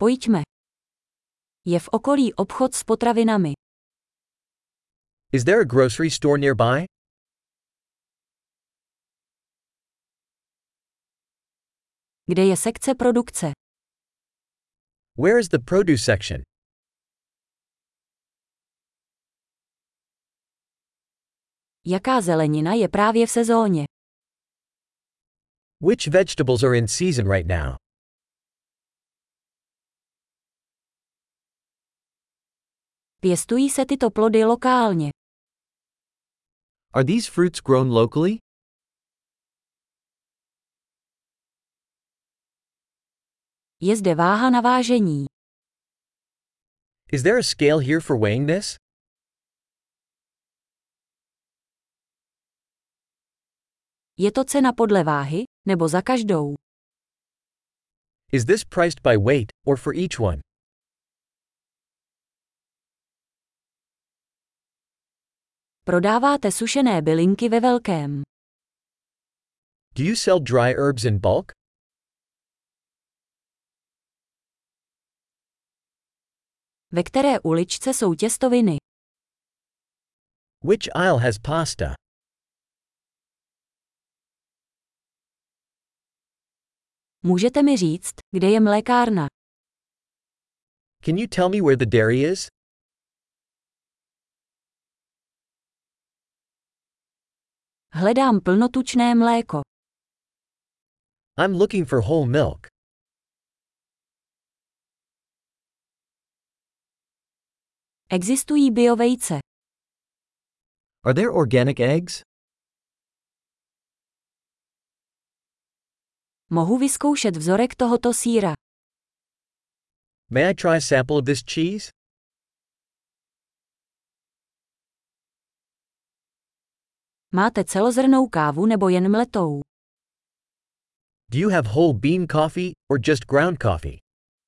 Pojďme. Je v okolí obchod s potravinami. Is there a grocery store nearby? Kde je sekce produkce? Where is the produce section? Jaká zelenina je právě v sezóně? Which vegetables are in season right now? Pěstují se tyto plody lokálně? Are these fruits grown locally? Je zde váha na vážení. Is there a scale here for weighing this? Je to cena podle váhy, nebo za každou? Is this priced by weight, or for each one? Prodáváte sušené bylinky ve velkém. Do you sell dry herbs in bulk? Ve které uličce jsou těstoviny? Which aisle has pasta? Můžete mi říct, kde je mlékárna? Can you tell me where the dairy is? Hledám plnotučné mléko. I'm looking for whole milk. Existují biovejce. Are there organic eggs? Mohu vyzkoušet vzorek tohoto sýra. May I try a sample of this cheese? Máte celozrnnou kávu nebo jen mletou? Do you have whole bean coffee, or just ground coffee?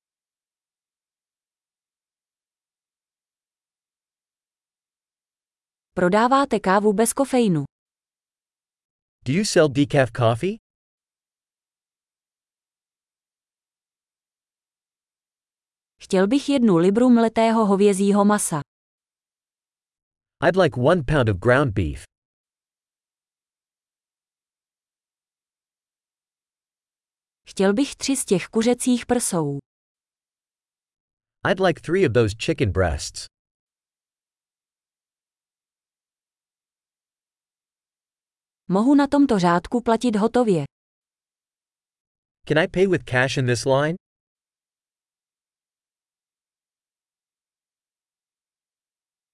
Prodáváte kávu bez kofeinu. Do you sell decaf coffee? Chtěl bych 1 libru mletého hovězího masa. I'd like 1 pound of ground beef. Chtěl bych 3 z těch kuřecích prsou. I'd like 3 of those chicken breasts. Mohu na tomto řádku platit hotově. Can I pay with cash in this line?